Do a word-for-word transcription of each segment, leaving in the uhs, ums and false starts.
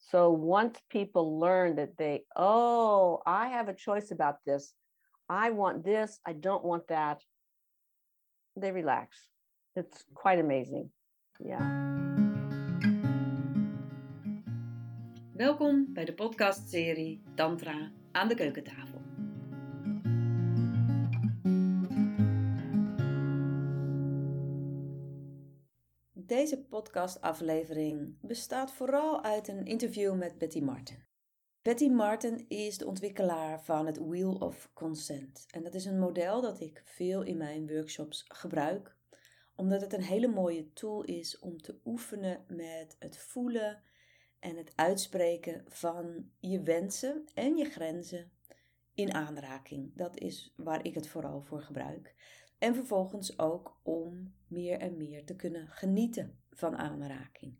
So once people learn that they, oh, I have a choice about this. I want this. I don't want that. They relax. It's quite amazing. Yeah. Welkom bij de podcastserie Tantra aan de keukentafel. Deze podcastaflevering bestaat vooral uit een interview met Betty Martin. Betty Martin is de ontwikkelaar van het Wheel of Consent. En dat is een model dat ik veel in mijn workshops gebruik, omdat het een hele mooie tool is om te oefenen met het voelen en het uitspreken van je wensen en je grenzen in aanraking. Dat is waar ik het vooral voor gebruik. En vervolgens ook om meer en meer te kunnen genieten van aanraking.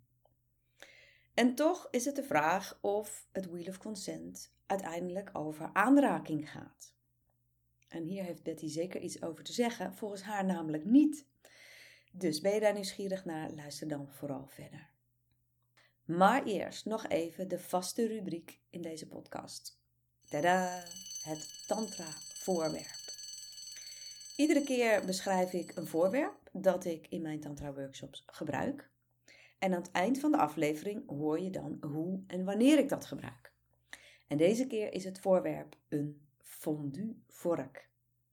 En toch is het de vraag of het Wheel of Consent uiteindelijk over aanraking gaat. En hier heeft Betty zeker iets over te zeggen, volgens haar namelijk niet. Dus ben je daar nieuwsgierig naar, luister dan vooral verder. Maar eerst nog even de vaste rubriek in deze podcast. Tada! Het Tantra voorwerp. Iedere keer beschrijf ik een voorwerp dat ik in mijn Tantra workshops gebruik. En aan het eind van de aflevering hoor je dan hoe en wanneer ik dat gebruik. En deze keer is het voorwerp een fondue vork.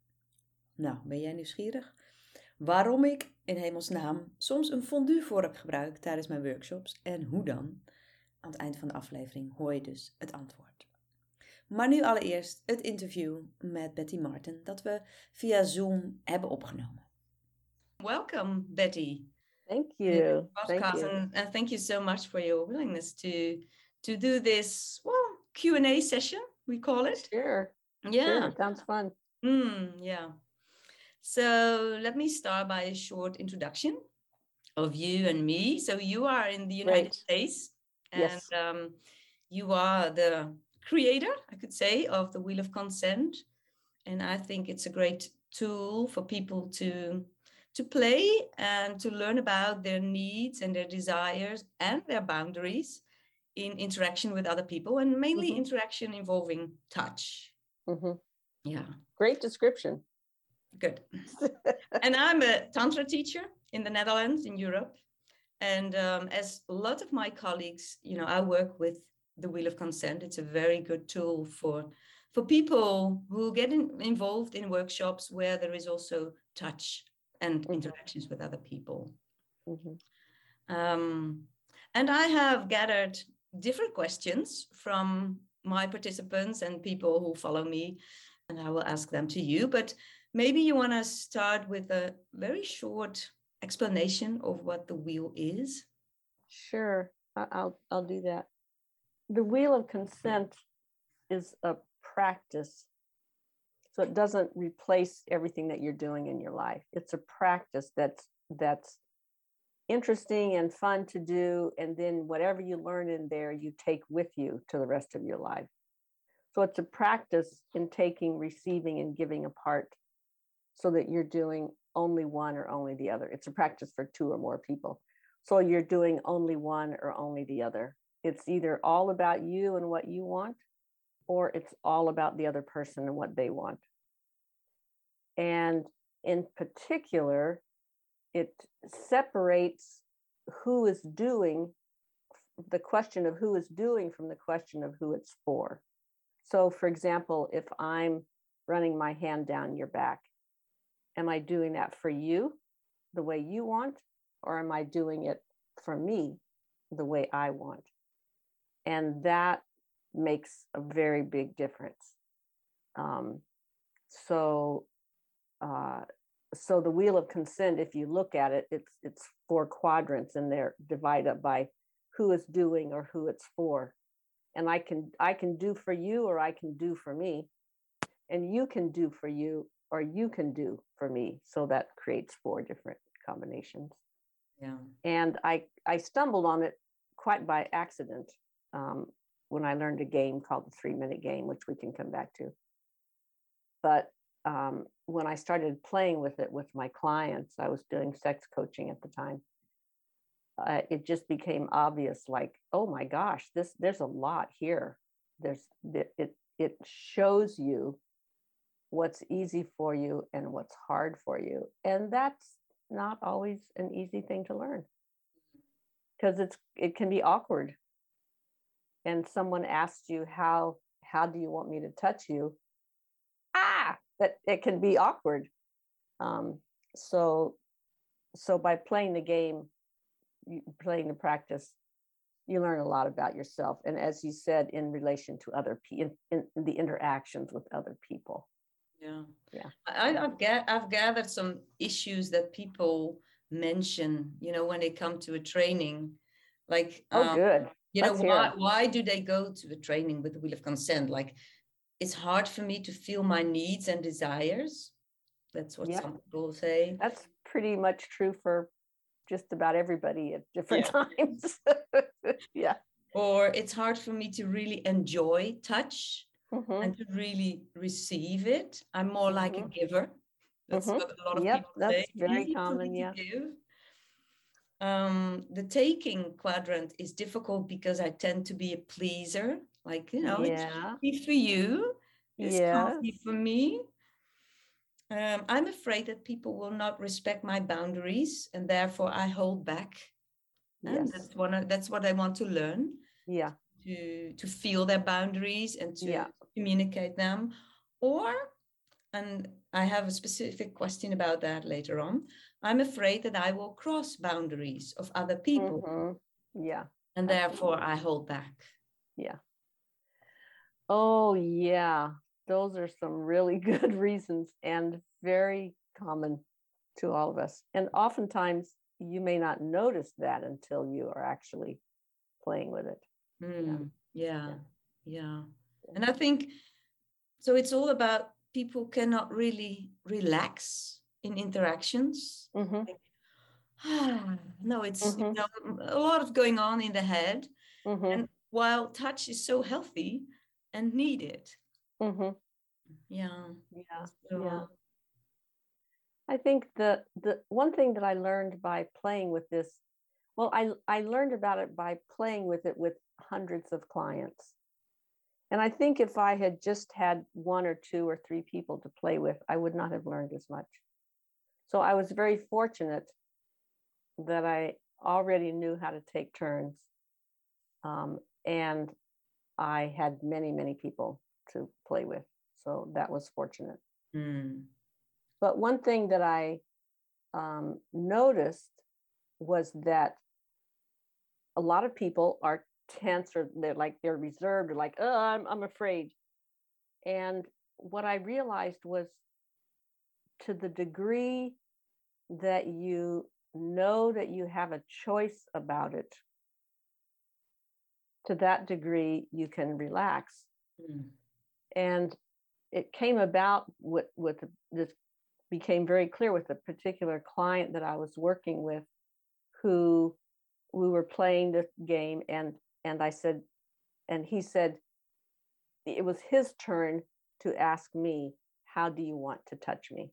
Nou, ben jij nieuwsgierig? Waarom ik in hemelsnaam soms een fondue vork gebruik tijdens mijn workshops en hoe dan? Aan het eind van de aflevering hoor je dus het antwoord. Maar nu allereerst het interview met Betty Martin dat we via Zoom hebben opgenomen. Welcome, Betty. Thank you. Podcast, Thank you. And, and thank you so much for your willingness to to do this, well, Q and A session, we call it. Sure. Yeah. Sure. Sounds fun. Mm, yeah. So let me start by a short introduction of you and me. So you are in the United Great. States, and Yes. um, you are the creator, I could say, of the Wheel of Consent. And I think it's a great tool for people to to play and to learn about their needs and their desires and their boundaries in interaction with other people, and mainly Mm-hmm. interaction involving touch. Mm-hmm. Yeah. Great description. Good. And I'm a Tantra teacher in the Netherlands, in Europe. And um, as a lot of my colleagues, you know, I work with the Wheel of Consent. It's a very good tool for, for people who get in, involved in workshops where there is also touch and mm-hmm. interactions with other people. Mm-hmm. Um, and I have gathered different questions from my participants and people who follow me, and I will ask them to you. But maybe you want to start with a very short explanation of what the wheel is. Sure, I'll I'll do that. The Wheel of Consent is a practice. So it doesn't replace everything that you're doing in your life. It's a practice that's that's interesting and fun to do. And then whatever you learn in there, you take with you to the rest of your life. So it's a practice in taking, receiving, and giving apart so that you're doing only one or only the other. It's a practice for two or more people. So you're doing only one or only the other. It's either all about you and what you want, or it's all about the other person and what they want. And in particular, it separates who is doing, the question of who is doing from the question of who it's for. So for example, if I'm running my hand down your back, am I doing that for you the way you want, or am I doing it for me the way I want? And that makes a very big difference. Um, so, uh, so the Wheel of Consent, if you look at it, it's it's four quadrants, and they're divided up by who is doing or who it's for. And I can I can do for you, or I can do for me, and you can do for you, or you can do for me. So that creates four different combinations. Yeah. And I I stumbled on it quite by accident um, when I learned a game called the Three Minute Game, which we can come back to. But um, when I started playing with it with my clients, I was doing sex coaching at the time. uh, it just became obvious, like, oh my gosh, this there's a lot here. There's it it, it shows you what's easy for you and what's hard for you. And that's not always an easy thing to learn, because it's it can be awkward. And someone asks you, how how do you want me to touch you? Ah, that it can be awkward. Um, so so by playing the game, playing the practice, you learn a lot about yourself. And as you said, in relation to other people, in, in the interactions with other people. Yeah. Yeah. I, I've, ga- I've gathered some issues that people mention, you know, when they come to a training. Like, oh, um, good. you Let's know, hear why, 'em. why do they go to a training with the Wheel of Consent? Like, it's hard for me to feel my needs and desires. That's what Yep. some people say. That's pretty much true for just about everybody at different Yeah. times. Yeah. Or it's hard for me to really enjoy touch Mhm. and to really receive it. I'm more like a Mhm. giver. That's Mhm. what a lot of Yep, people that's say. very Easy for common. me Yeah. to give. Um, the taking quadrant is difficult because I tend to be a pleaser. Like, you know, it Yeah. should be for you. This can't be Yes. for me. Um, I'm afraid that people will not respect my boundaries, and therefore I hold back. And Yes. that's one. of- That's what I want to learn. Yeah. To to feel their boundaries and to Yeah. communicate them. Or, and I have a specific question about that later on, I'm afraid that I will cross boundaries of other people. Mhm. Yeah. And therefore I hold back. Yeah. Oh, yeah. Those are some really good reasons and very common to all of us. And oftentimes you may not notice that until you are actually playing with it. Mm, yeah. Yeah. Yeah. And I think, so it's all about people cannot really relax in interactions. Mm-hmm. Like, ah, no, it's, you Mm-hmm. know, a lot of going on in the head. Mm-hmm. And while touch is so healthy and needed. Mm-hmm. Yeah. Yeah. So, Yeah. I think the the one thing that I learned by playing with this, well, I I learned about it by playing with it with hundreds of clients. And I think if I had just had one or two or three people to play with, I would not have learned as much. So I was very fortunate that I already knew how to take turns. Um, and I had many, many people to play with. So that was fortunate. mm, But one thing that I um, noticed was that a lot of people are tense, or they're like, they're reserved, or like, oh, I'm, I'm afraid. And what I realized was, to the degree that you know that you have a choice about it, to that degree you can relax. mm, And it came about with, with this became very clear with a particular client that I was working with, who we were playing this game, and and I said, and he said it was his turn to ask me, how do you want to touch me?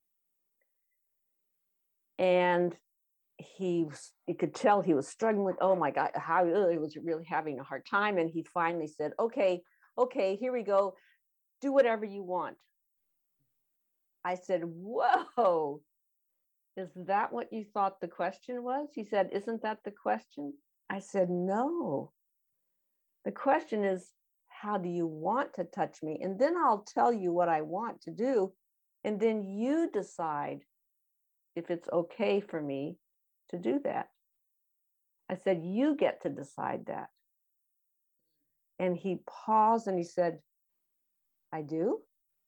And he was, you could tell he was struggling with, oh my God, how ugh, he was really having a hard time. And he finally said, okay, okay, here we go. Do whatever you want. I said, whoa, is that what you thought the question was? He said, isn't that the question? I said, no. The question is, how do you want to touch me? And then I'll tell you what I want to do. And then you decide if it's okay for me to do that. I said, you get to decide that. And he paused and he said, I do.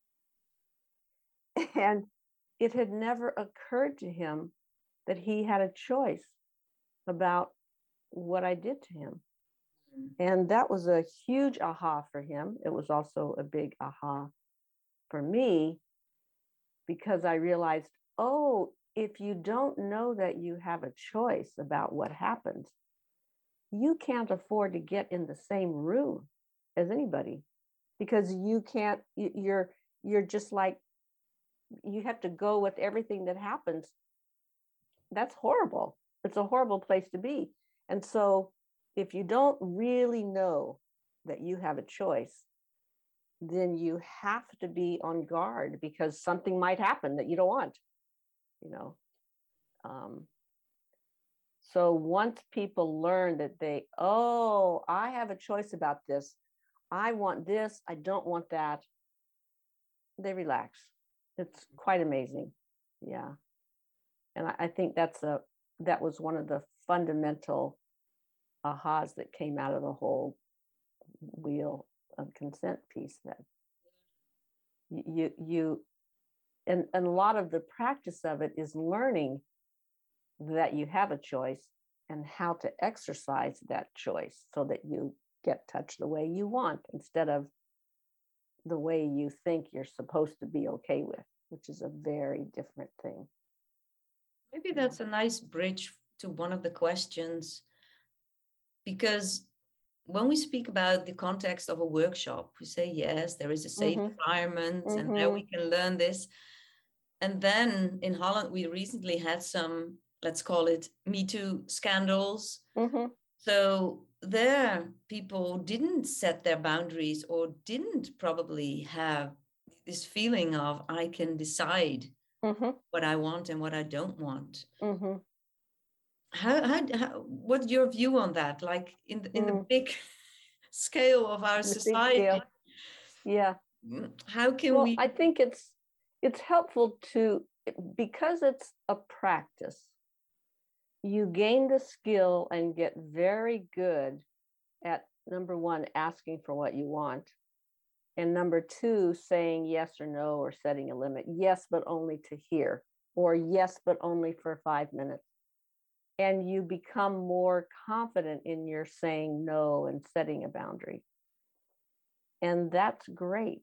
And it had never occurred to him that he had a choice about what I did to him. And that was a huge aha for him. It was also a big aha for me, because I realized, oh, if you don't know that you have a choice about what happens, you can't afford to get in the same room as anybody, because you can't, you're, you're just like, you have to go with everything that happens. That's horrible. It's a horrible place to be. And so if you don't really know that you have a choice, then you have to be on guard because something might happen that you don't want, you know. Um, so once people learn that they, oh, I have a choice about this. I want this. I don't want that. They relax. It's quite amazing. Yeah. And I, I think that's a, that was one of the fundamental ahas that came out of the whole wheel of consent piece, that you, you, and, and a lot of the practice of it is learning that you have a choice and how to exercise that choice so that you get touched the way you want instead of the way you think you're supposed to be okay with, which is a very different thing. Maybe that's a nice bridge to one of the questions, because when we speak about the context of a workshop, we say, yes, there is a safe Mm-hmm. environment Mm-hmm. and there we can learn this. And then in Holland, we recently had some, let's call it Me Too scandals. Mm-hmm. So there, people didn't set their boundaries or didn't probably have this feeling of, I can decide mm-hmm. what I want and what I don't want. Mm-hmm. How, how, how, what's your view on that? Like in the, in mm. the big scale of our The big society, scale. Yeah. how can well, we? I think it's it's helpful to, because it's a practice, you gain the skill and get very good at, number one, asking for what you want, and number two, saying yes or no, or setting a limit. Yes, but only to hear, or yes, but only for five minutes. And you become more confident in your saying no and setting a boundary. And that's great.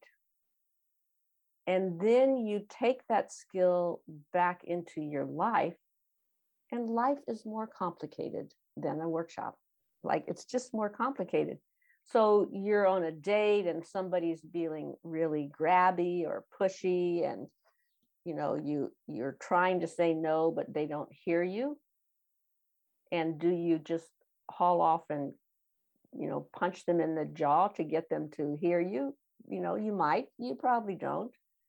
And then you take that skill back into your life, and life is more complicated than a workshop. Like, it's just more complicated. So you're on a date and somebody's being really grabby or pushy, and you know, you you're trying to say no, but they don't hear you. And do you just haul off and, you know, punch them in the jaw to get them to hear you? You know, you might, you probably don't.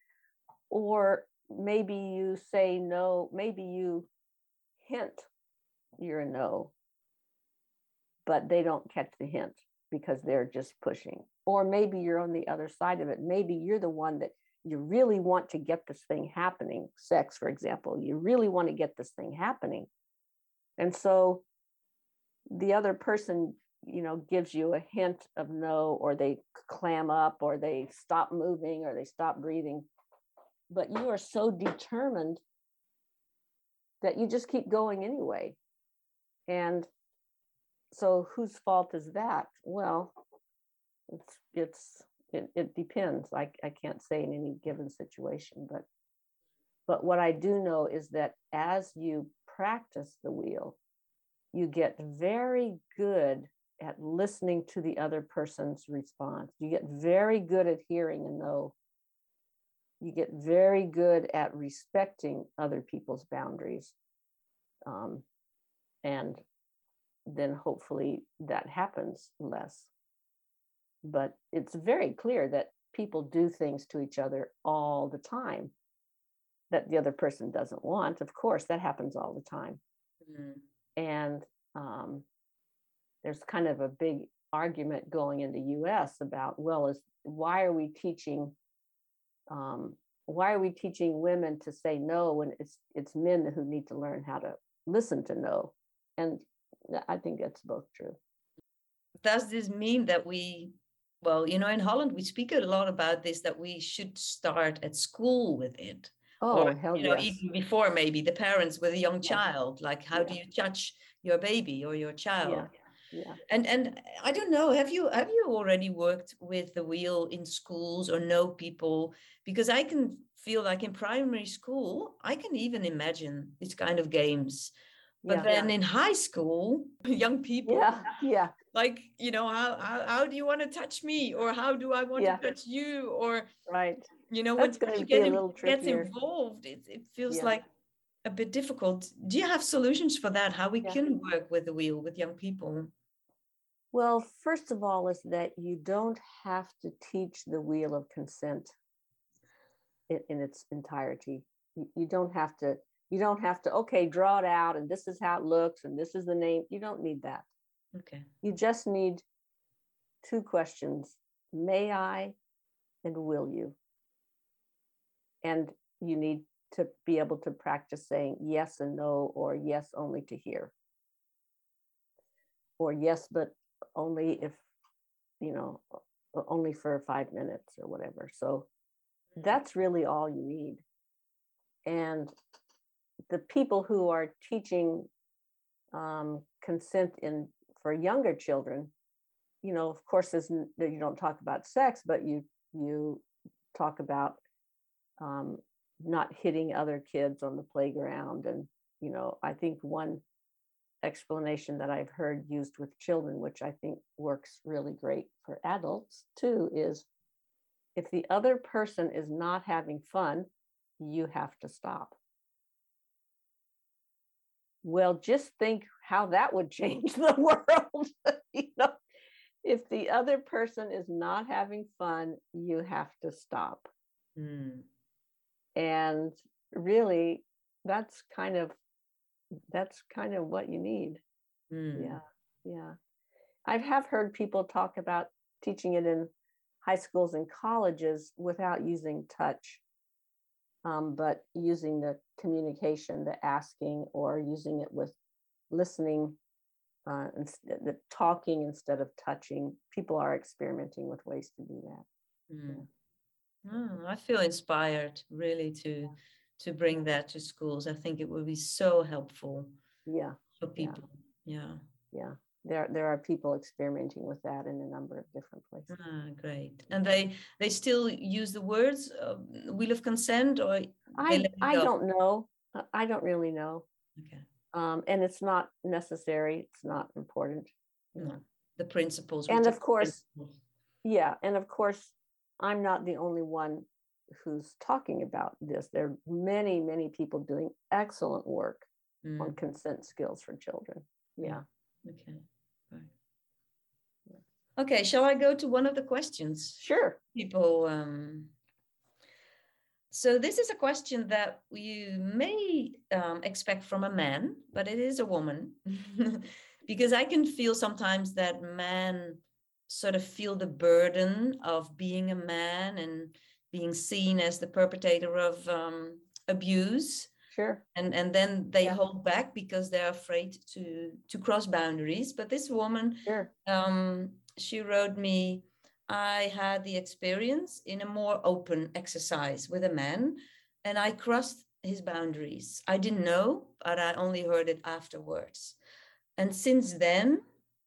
Or maybe you say no, maybe you hint you're a no, but they don't catch the hint because they're just pushing. Or maybe you're on the other side of it. Maybe you're the one that you really want to get this thing happening. Sex, for example, you really want to get this thing happening. And so the other person, you know, gives you a hint of no, or they clam up, or they stop moving, or they stop breathing. But you are so determined that you just keep going anyway. And so whose fault is that? Well, it's, it's it, it depends. I, I can't say in any given situation, but but what I do know is that as you practice the wheel, you get very good at listening to the other person's response. You get very good at hearing a no. You get very good at respecting other people's boundaries. Um, and then hopefully that happens less. But it's very clear that people do things to each other all the time that the other person doesn't want. Of course, that happens all the time. Mm-hmm. And um, there's kind of a big argument going in the U S about, well, is why are we teaching um, why are we teaching women to say no when it's it's men who need to learn how to listen to no? And I think that's both true. Does this mean that we, well, you know, in Holland, we speak a lot about this, that we should start at school with it. Oh, or, hell you know, yes. even before, maybe the parents with a young Yeah. child, like how Yeah. do you touch your baby or your child? Yeah. Yeah. And and I don't know, have you have you already worked with the wheel in schools or know people? Because I can feel like in primary school, I can even imagine these kind of games. But Yeah. then in high school, young people, Yeah. Yeah. like, you know, how, how how do you want to touch me? Or how do I want Yeah. to touch you? Or, right. you know, That's when going to you get be a in, little gets trickier. involved, it, it feels Yeah. like a bit difficult. Do you have solutions for that? How we Yeah. can work with the wheel with young people? Well, first of all, is that you don't have to teach the wheel of consent in, in its entirety. You, you don't have to, you don't have to, okay, draw it out and this is how it looks and this is the name. You don't need that. Okay. You just need two questions. May I and will you? And you need to be able to practice saying yes and no, or yes only to hear, or yes but only if, you know, only for five minutes or whatever. So that's really all you need. And the people who are teaching um, consent in for younger children, you know, of course, there's, you don't talk about sex, but you you talk about um, not hitting other kids on the playground. And, you know, I think one explanation that I've heard used with children, which I think works really great for adults too, is if the other person is not having fun, you have to stop. Well, just think how that would change the world. You know, if the other person is not having fun, you have to stop. Mm. And really, that's kind of that's kind of what you need. Mm. Yeah, yeah. I have heard people talk about teaching it in high schools and colleges without using touch, um, but using the communication, the asking, or using it with listening, uh, instead, the talking instead of touching. People are experimenting with ways to do that. Mm. Yeah. Oh, I feel inspired really to to bring that to schools. I think it would be so helpful. Yeah. For people. Yeah. Yeah. Yeah. There, there are people experimenting with that in a number of different places. Ah, great. And they they still use the words uh, wheel of consent, or I I don't know. I don't really know. Okay. Um, and it's not necessary. It's not important. No. Know. The principles. And of course, principles. yeah. And of course, I'm not the only one who's talking about this. There are many, many people doing excellent work mm. on consent skills for children. Yeah. yeah. Okay. Right. Okay, shall I go to one of the questions? Sure. People, um, so this is a question that you may um, expect from a man, but it is a woman. Because I can feel sometimes that men sort of feel the burden of being a man and being seen as the perpetrator of um, abuse. Sure. And and then they yeah. hold back because they're afraid to to cross boundaries. But this woman, sure. um, she wrote me, I had the experience in a more open exercise with a man, and I crossed his boundaries. I didn't know, but I only heard it afterwards. And since then,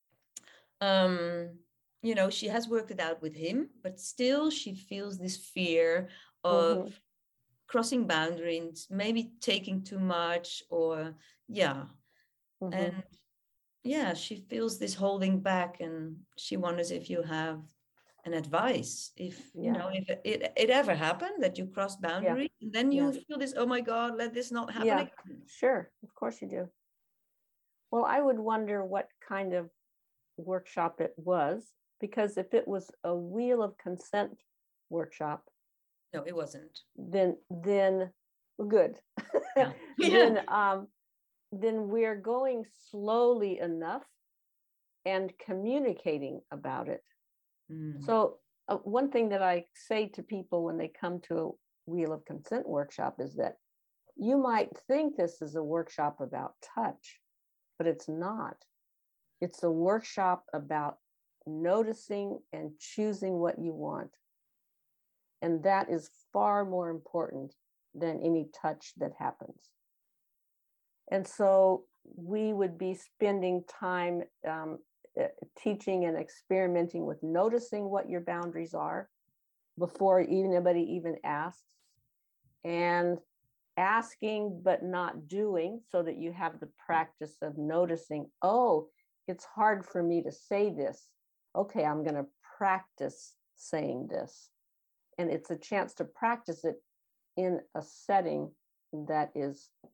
um, you know, she has worked it out with him, but still she feels this fear of mm-hmm. crossing boundaries, maybe taking too much, or yeah. Mm-hmm. And yeah, she feels this holding back, and she wonders if you have an advice, if yeah. you know, if it, it, it ever happened that you cross boundaries, yeah. and then you yeah. feel this, oh my God, let this not happen yeah. again. Sure, of course you do. Well, I would wonder what kind of workshop it was, because if it was a wheel of consent workshop, no, it wasn't. Then, then good. Yeah. then, um, then we're going slowly enough and communicating about it. Mm. So, uh, one thing that I say to people when they come to a wheel of consent workshop is that you might think this is a workshop about touch, but it's not. It's a workshop about noticing and choosing what you want. And that is far more important than any touch that happens. And so we would be spending time um, teaching and experimenting with noticing what your boundaries are before anybody even asks, and asking but not doing, so that you have the practice of noticing, oh, it's hard for me to say this. Okay, I'm going to practice saying this. And it's a chance to practice it in a setting that is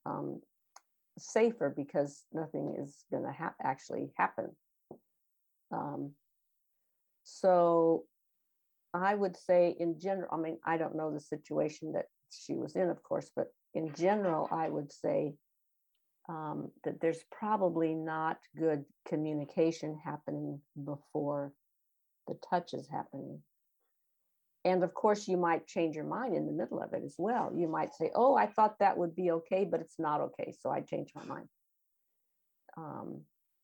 um, safer because nothing is going to ha- actually happen. Um, so I would say in general, I mean, I don't know the situation that she was in, of course, but in general, I would say um, that there's probably not good communication happening before the touch is happening. And of course, you might change your mind in the middle of it as well. You might say, oh, I thought that would be okay, but it's not okay. So I changed my mind. Um,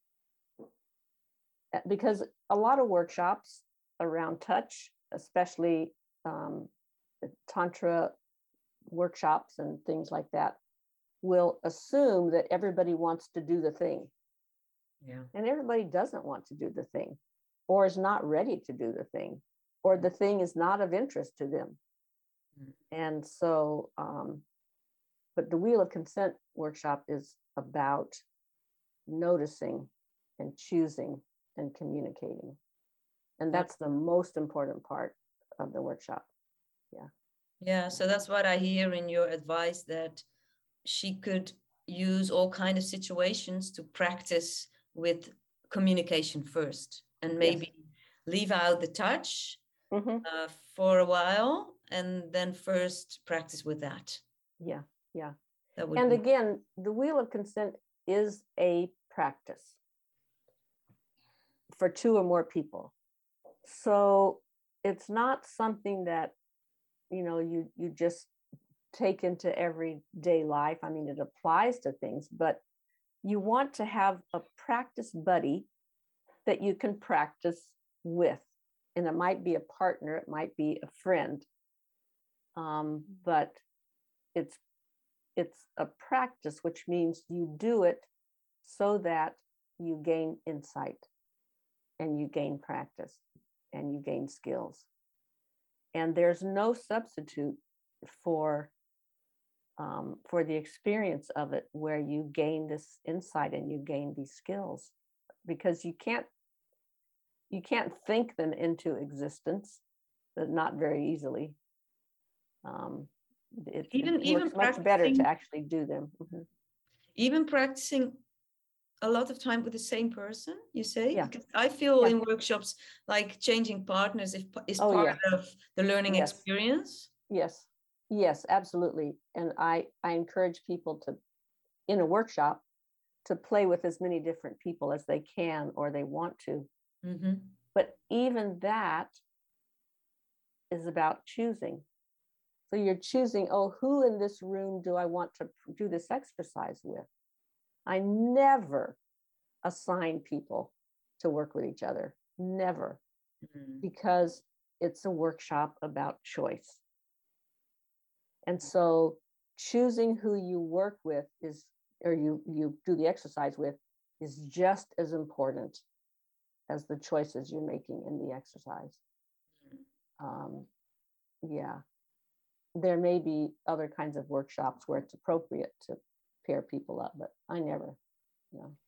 because a lot of workshops around touch, especially um, Tantra workshops and things like that, will assume that everybody wants to do the thing. Yeah. And everybody doesn't want to do the thing, or is not ready to do the thing, or the thing is not of interest to them. Mm. And so, um, but the Wheel of Consent workshop is about noticing and choosing and communicating. And that's the most important part of the workshop. Yeah. Yeah. So that's what I hear in your advice, that she could use all kind of situations to practice with communication first, and maybe yes. leave out the touch mm-hmm. uh, for a while, and then first practice with that. Yeah, yeah. That would and be- again, the Wheel of Consent is a practice for two or more people. So it's not something that, you know, you you just take into everyday life. I mean, it applies to things, but you want to have a practice buddy that you can practice with. And it might be a partner, it might be a friend. Um, but it's it's a practice, which means you do it so that you gain insight and you gain practice and you gain skills. And there's no substitute for um, for the experience of it, where you gain this insight and you gain these skills, because you can't you can't think them into existence, but not very easily. Um, it, even it even works much better to actually do them. Mm-hmm. Even practicing a lot of time with the same person, you say? Yeah. Because I feel yeah. in workshops, like changing partners is, is oh, part yeah. of the learning yes. experience. Yes, yes, absolutely. And I, I encourage people to, in a workshop, to play with as many different people as they can or they want to. Mm-hmm. But even that is about choosing. So you're choosing, oh, who in this room do I want to do this exercise with? I never assign people to work with each other, never, mm-hmm. because it's a workshop about choice. And so choosing who you work with is, or you, you do the exercise with, is just as important as the choices you're making in the exercise. Mm-hmm. Um, yeah. There may be other kinds of workshops where it's appropriate to pair people up, but I never, you know.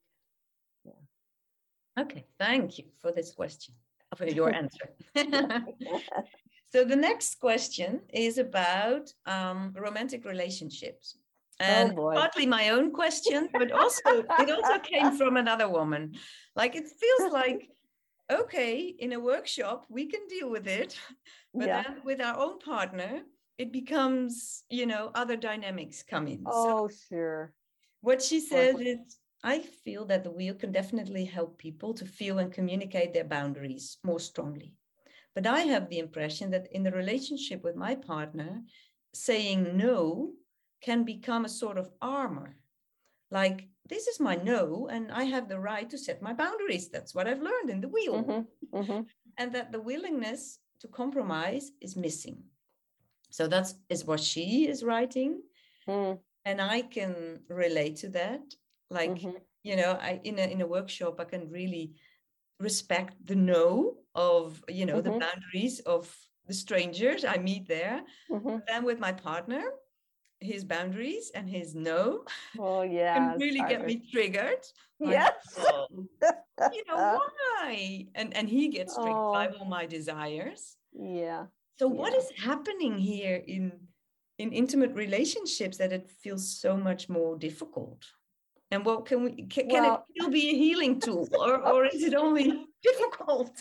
Yeah. Okay, thank you for this question, for your answer. So the next question is about um, romantic relationships. And oh boy. partly my own question, but also it also came from another woman. Like, it feels like, okay, in a workshop, we can deal with it. But yeah. then with our own partner, it becomes, you know, other dynamics come in. Oh, so sure. What she says is, I feel that the wheel can definitely help people to feel and communicate their boundaries more strongly. But I have the impression that in the relationship with my partner, saying no can become a sort of armor. Like, this is my no, and I have the right to set my boundaries. That's what I've learned in the wheel. Mm-hmm. Mm-hmm. And that the willingness to compromise is missing. So that is what she is writing. Mm. And I can relate to that. Like, mm-hmm. you know, I in a in a workshop, I can really respect the no of, you know, mm-hmm. the boundaries of the strangers I meet there. Mm-hmm. But then with my partner, his boundaries and his no oh, yeah, can really get me triggered. Like, yes. oh, you know, why? And and he gets triggered oh. by all my desires. Yeah. So yeah. what is happening here in in intimate relationships that it feels so much more difficult? And what can we can, can it Well, still be a healing tool, or or is it only difficult?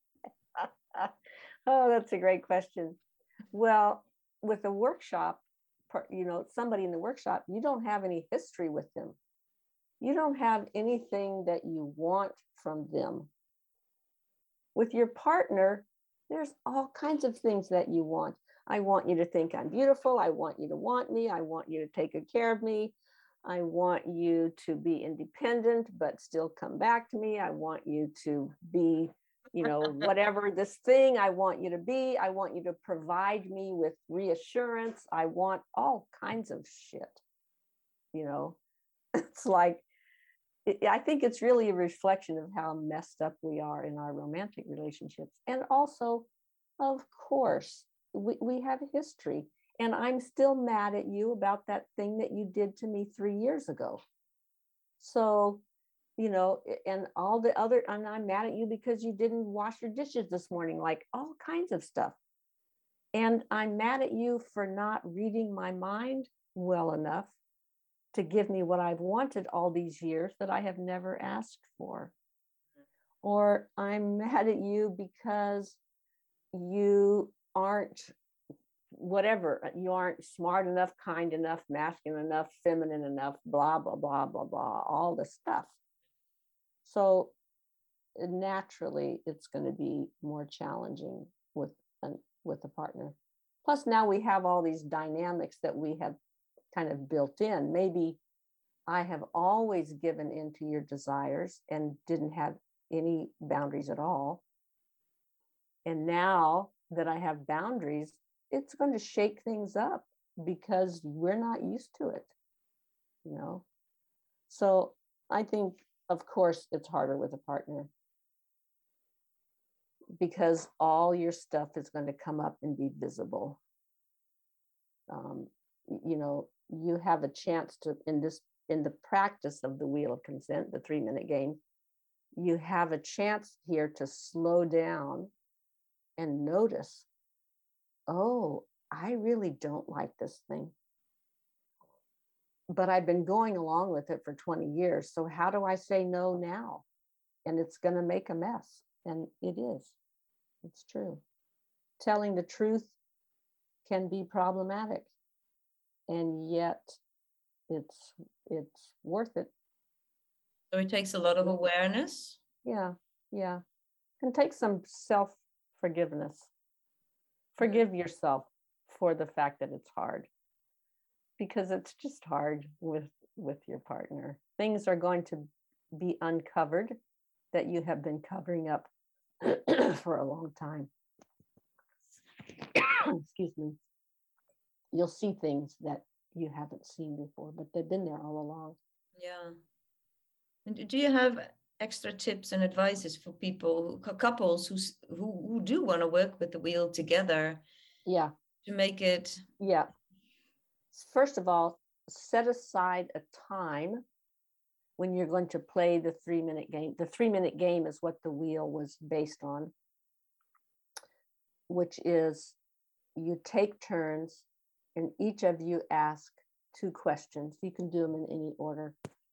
oh, that's a great question. Well, with a workshop, per- you know, somebody in the workshop, you don't have any history with them. You don't have anything that you want from them. With your partner, there's all kinds of things that you want. I want you to think I'm beautiful. I want you to want me. I want you to take good care of me. I want you to be independent, but still come back to me. I want you to be, you know, whatever this thing I want you to be. I want you to provide me with reassurance. I want all kinds of shit, you know. It's like, I think it's really a reflection of how messed up we are in our romantic relationships. And also, of course, we, we have history. And I'm still mad at you about that thing that you did to me three years ago. So, you know, and all the other, and I'm mad at you because you didn't wash your dishes this morning, like all kinds of stuff. And I'm mad at you for not reading my mind well enough to give me what I've wanted all these years that I have never asked for. Or I'm mad at you because you aren't whatever, you aren't smart enough, kind enough, masculine enough, feminine enough, blah, blah, blah, blah, blah, all the stuff. So naturally, it's going to be more challenging with, an, with a partner. Plus, now we have all these dynamics that we have kind of built in. Maybe I have always given in to your desires and didn't have any boundaries at all. And now that I have boundaries, it's going to shake things up because we're not used to it, you know? So I think, of course, it's harder with a partner because all your stuff is going to come up and be visible. Um, you know, you have a chance to, in this, in the practice of the Wheel of Consent, the three minute game, you have a chance here to slow down and notice, oh, I really don't like this thing, but I've been going along with it for twenty years. So how do I say no now? And it's going to make a mess. And it is. It's true. Telling the truth can be problematic. And yet it's it's worth it. So it takes a lot of awareness. Yeah, yeah. And take some self-forgiveness. Forgive yourself for the fact that it's hard. Because it's just hard with, with your partner. Things are going to be uncovered that you have been covering up for a long time. Excuse me. You'll see things that you haven't seen before, but they've been there all along. Yeah. And do you have extra tips and advices for people, couples who who, who do want to work with the wheel together? Yeah. To make it. Yeah. First of all, set aside a time when you're going to play the three minute game. The three minute game is what the wheel was based on, which is you take turns and each of you ask two questions. You can do them in any order.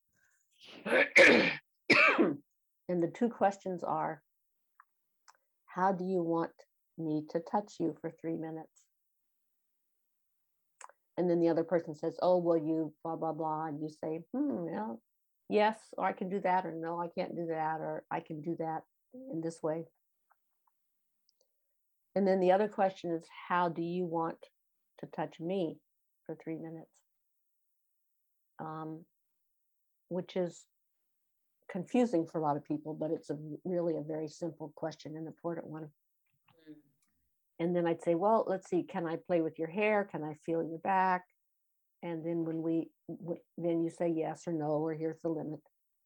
And the two questions are, how do you want me to touch you for three minutes? And then the other person says, oh, will you blah, blah, blah. And you say, hmm, yeah, yes, or I can do that, or no, I can't do that, or I can do that in this way. And then the other question is, how do you want to touch me for three minutes? Um, which is confusing for a lot of people, but it's a really a very simple question, an important one. Mm. And then I'd say, well, let's see, can I play with your hair? Can I feel your back? And then when we, w- then you say yes or no, or here's the limit.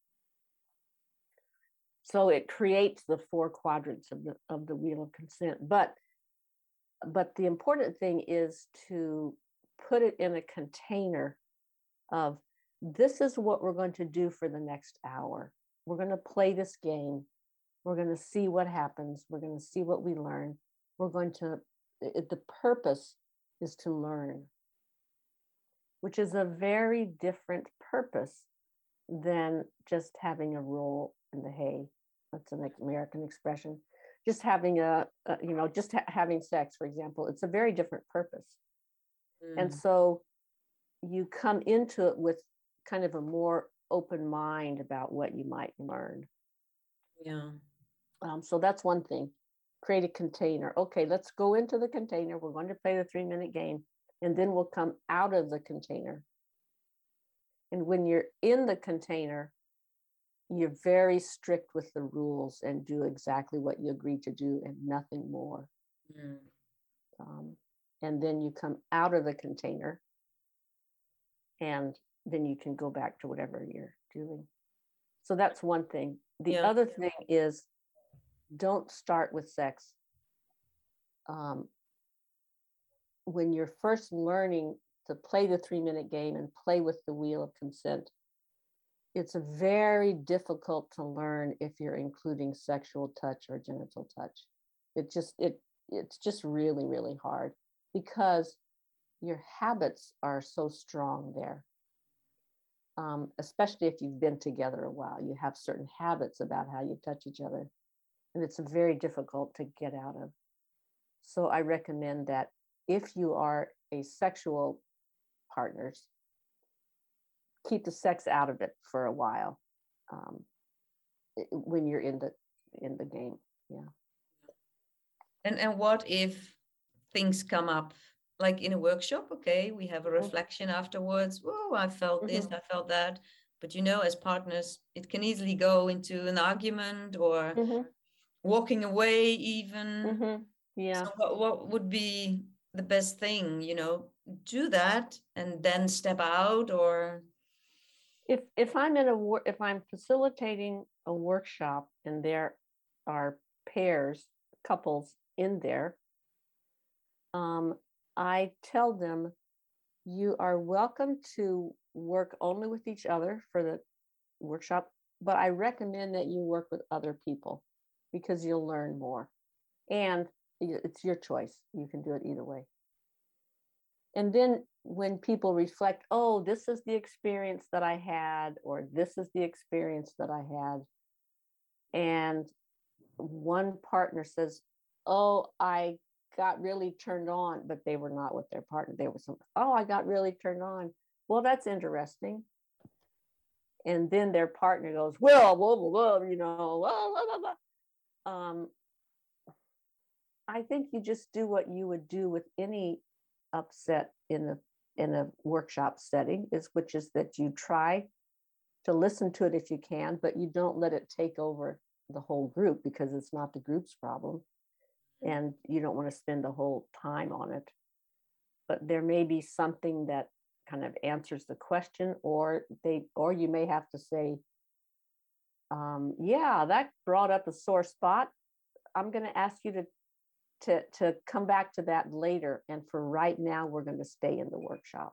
So it creates the four quadrants of the of the Wheel of Consent. But, but the important thing is to put it in a container of, this is what we're going to do for the next hour. We're going to play this game. We're going to see what happens. We're going to see what we learn. We're going to, it, the purpose is to learn. which is a very different purpose than just having a roll in the hay. That's an American expression. Just having a, a you know, just ha- having sex, for example, it's a very different purpose. Mm. And so you come into it with kind of a more open mind about what you might learn. Yeah. Um, so that's one thing. Create a container. Okay, let's go into the container. We're going to play the three minute game, and then we'll come out of the container. And when you're in the container, you're very strict with the rules and do exactly what you agreed to do and nothing more. Mm. Um, and then you come out of the container, and then you can go back to whatever you're doing. So that's one thing. The yeah. other thing is, don't start with sex. Um, when you're first learning to play the three minute game and play with the wheel of consent, it's very difficult to learn if you're including sexual touch or genital touch. It just, it, it's just really, really hard because your habits are so strong there. Um, especially if you've been together a while, you have certain habits about how you touch each other, and it's very difficult to get out of. So I recommend that if you are a sexual partners, keep the sex out of it for a while um, when you're in the in the game. Yeah. And and what if things come up like in a workshop? Okay, we have a reflection mm-hmm. afterwards. Whoa, I felt mm-hmm. this, I felt that. But you know, as partners, it can easily go into an argument or mm-hmm. walking away even. Mm-hmm. Yeah. So what, what would be the best thing? You know, do that and then step out, or if if I'm in a if I'm facilitating a workshop and there are pairs, couples in there, um, I tell them you are welcome to work only with each other for the workshop, but I recommend that you work with other people because you'll learn more. And it's your choice. You can do it either way. And then when people reflect, oh, this is the experience that I had, or this is the experience that I had, and one partner says, oh, I got really turned on, but they were not with their partner. They were some, oh, I got really turned on. Well, that's interesting. And then their partner goes, well, blah, blah, blah, you know, blah, blah, blah, blah. Um, I think you just do what you would do with any upset in a in a workshop setting, is which is that you try to listen to it if you can, but you don't let it take over the whole group because it's not the group's problem, and you don't want to spend the whole time on it. But there may be something that kind of answers the question, or they or you may have to say, um, yeah, that brought up a sore spot. I'm going to ask you to to to come back to that later, and for right now we're going to stay in the workshop.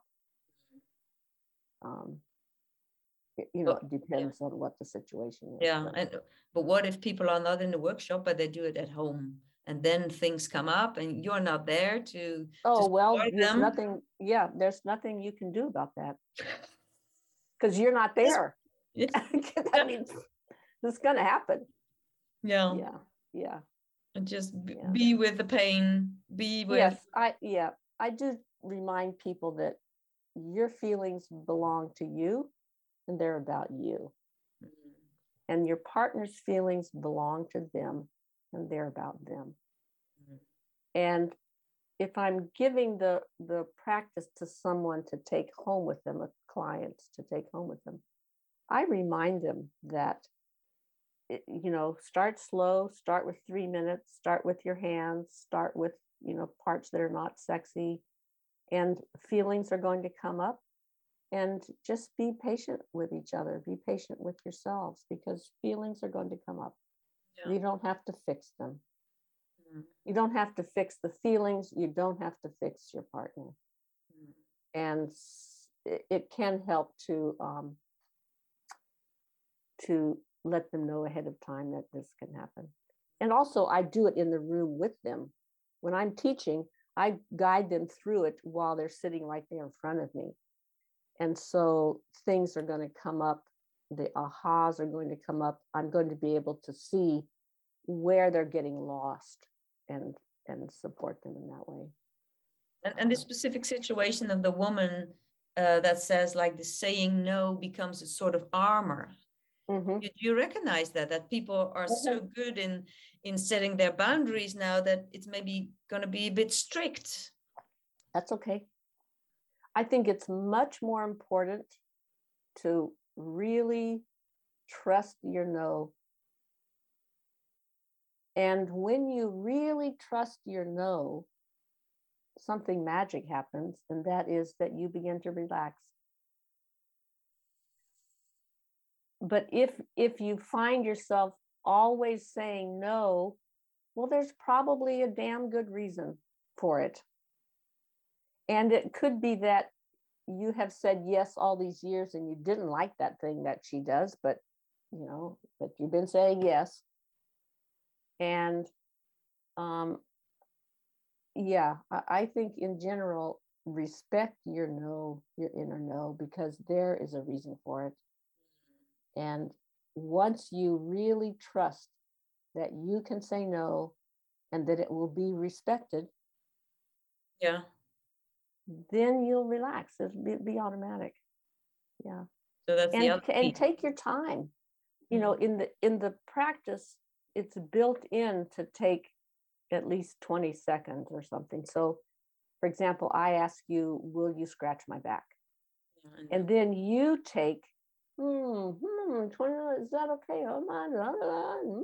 Um, you know, it depends yeah. on what the situation is. Yeah, but. and but what if people are not in the workshop but they do it at home, and then things come up and you're not there to oh to well there's them? nothing yeah there's nothing you can do about that because you're not there. Yeah. I mean, it's going to happen. Yeah, yeah yeah and just b- yeah. be with the pain, be with yes I yeah I do remind people that your feelings belong to you and they're about you, mm-hmm. and your partner's feelings belong to them and they're about them, mm-hmm. and if I'm giving the the practice to someone to take home with them, a client to take home with them, I remind them that, you know, start slow, start with three minutes, start with your hands, start with, you know, parts that are not sexy, and feelings are going to come up, and just be patient with each other, be patient with yourselves, because feelings are going to come up. Yeah. You don't have to fix them. Mm. You don't have to fix the feelings. You don't have to fix your partner. Mm. And it, it can help to, um, to let them know ahead of time that this can happen. And also I do it in the room with them. When I'm teaching, I guide them through it while they're sitting right there in front of me. And so things are going to come up, the ahas are going to come up. I'm going to be able to see where they're getting lost and and support them in that way. And, and the specific situation of the woman uh, that says like the saying no becomes a sort of armor. Mm-hmm. Do you recognize that, that people are mm-hmm. so good in, in setting their boundaries now that it's maybe going to be a bit strict? That's okay. I think it's much more important to really trust your no. And when you really trust your no, something magic happens, and that is that you begin to relax. But if if you find yourself always saying no, well, there's probably a damn good reason for it. And it could be that you have said yes all these years and you didn't like that thing that she does, but you know, but you've been saying yes. And um, yeah, I, I think in general, respect your no, your inner no, because there is a reason for it. And once you really trust that you can say no and that it will be respected, yeah, then you'll relax. It'll be, be automatic. Yeah. So that's and, the other and take your time. You know, in the in the practice, it's built in to take at least twenty seconds or something. So, for example, I ask you, will you scratch my back? Yeah, and then you take, hmm, hmm, twenty, is that okay? Oh my God.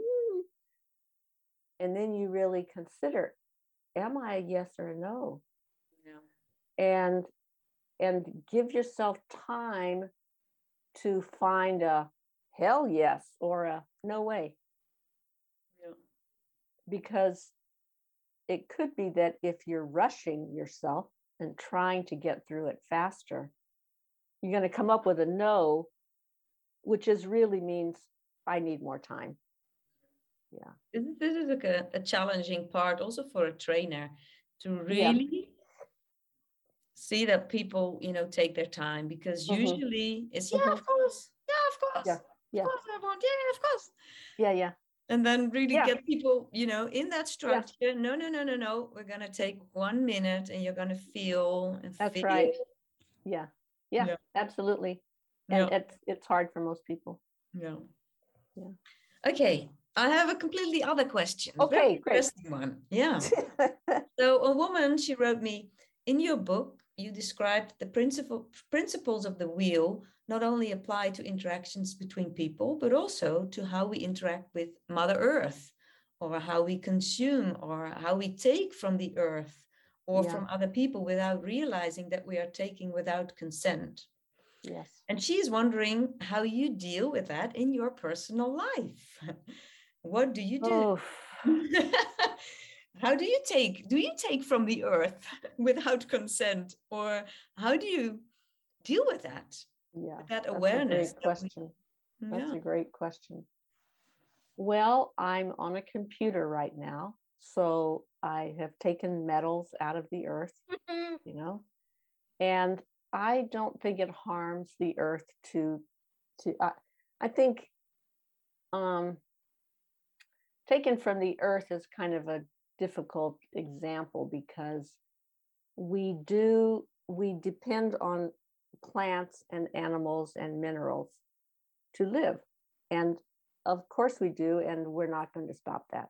And then you really consider, am I a yes or a no? Yeah. And and give yourself time to find a hell yes or a no way. Yeah. Because it could be that if you're rushing yourself and trying to get through it faster, you're going to come up with a no, which is really means I need more time. Yeah. This is, this is like a, a challenging part also for a trainer to really yeah. see that people, you know, take their time, because mm-hmm. usually it's, yeah, mm-hmm. of course. Yeah, of course. Yeah. Yeah. Of course I want. Yeah, of course. Yeah, yeah. And then really yeah. get people, you know, in that structure. Yeah. No, no, no, no, no. We're going to take one minute and you're going to feel and That's feel. right. Yeah. yeah. Yeah, absolutely. And yeah. it's it's hard for most people. Yeah. Yeah. Okay. I have a completely other question. Okay, Very great. Interesting one. Yeah. So a woman, she wrote me, in your book, you described the principle, principles of the wheel not only apply to interactions between people, but also to how we interact with Mother Earth, or how we consume, or how we take from the earth, or yeah. from other people without realizing that we are taking without consent. Yes. And she's wondering how you deal with that in your personal life. What do you do? Oh. How do you take, do you take from the earth without consent? Or how do you deal with that? Yeah, with that that's awareness. a great question. We, that's yeah. a great question. Well, I'm on a computer right now. So I have taken metals out of the earth, you know, and I don't think it harms the earth to, to uh, I think um, taken from the earth is kind of a difficult example, because we do, we depend on plants and animals and minerals to live. And of course we do, and we're not going to stop that.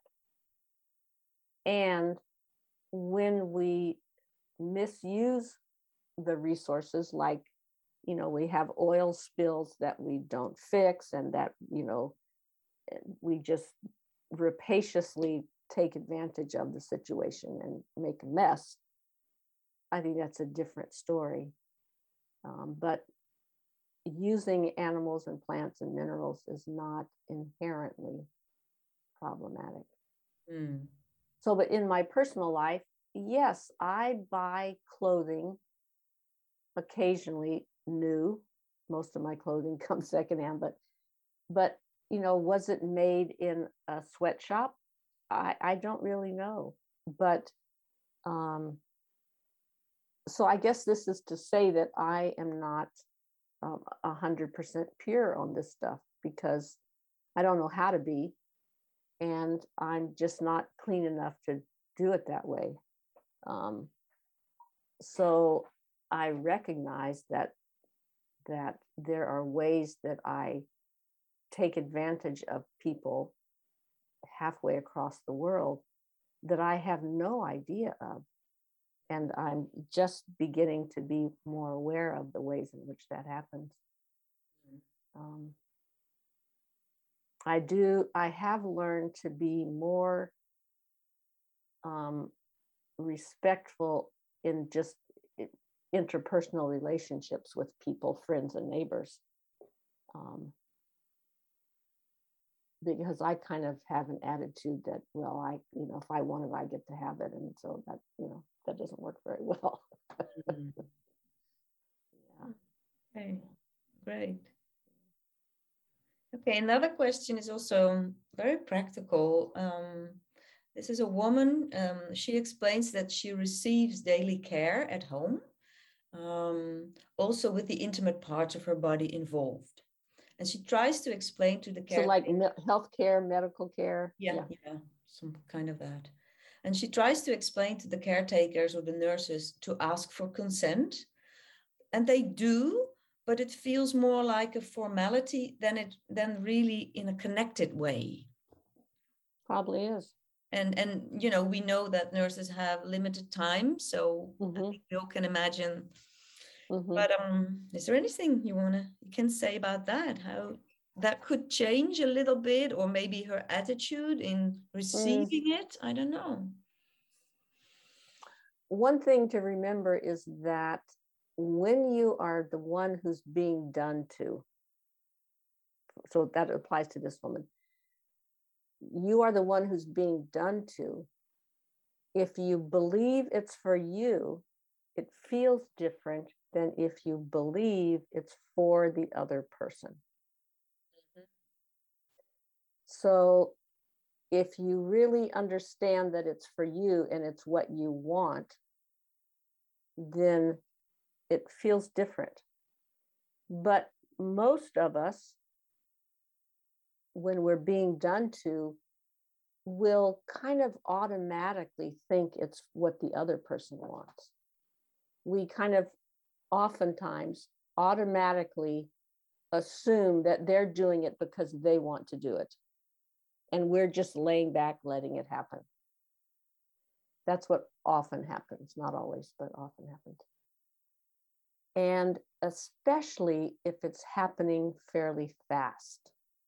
And when we misuse the resources, like, you know, we have oil spills that we don't fix, and that, you know, we just rapaciously take advantage of the situation and make a mess, I think that's a different story. Um, but using animals and plants and minerals is not inherently problematic. Mm. So, but in my personal life, yes, I buy clothing occasionally new. Most of my clothing comes secondhand, but, but, you know, was it made in a sweatshop? I, I don't really know. But, um, so I guess this is to say that I am not um, a hundred percent pure on this stuff because I don't know how to be, and I'm just not clean enough to do it that way. Um, so I recognize that that there are ways that I take advantage of people halfway across the world that I have no idea of. And I'm just beginning to be more aware of the ways in which that happens. Um, I do, I have learned to be more um, respectful in just interpersonal relationships with people, friends, and neighbors. Um, because I kind of have an attitude that, well, I, you know, if I want it, I get to have it. And so that, you know, that doesn't work very well. Mm. Yeah. Okay, great. Okay, another question is also very practical. Um, this is a woman. Um, she explains that she receives daily care at home, um, also with the intimate parts of her body involved. And she tries to explain to the So caretaker. like me- healthcare, medical care. Yeah, yeah, yeah, some kind of that. And she tries to explain to the caretakers or the nurses to ask for consent. And they do, but it feels more like a formality than it than really in a connected way. Probably is. And and you know, we know that nurses have limited time, so mm-hmm. I think we all can imagine. Mm-hmm. But um, is there anything you wanna you can say about that? How that could change a little bit, or maybe her attitude in receiving mm. it? I don't know. One thing to remember is that when you are the one who's being done to, so that applies to this woman, you are the one who's being done to. If you believe it's for you, it feels different than if you believe it's for the other person. Mm-hmm. So if you really understand that it's for you and it's what you want, then it feels different. But most of us, when we're being done to, will kind of automatically think it's what the other person wants. We kind of oftentimes automatically assume that they're doing it because they want to do it. And we're just laying back, letting it happen. That's what often happens, not always, but often happens. And especially if it's happening fairly fast.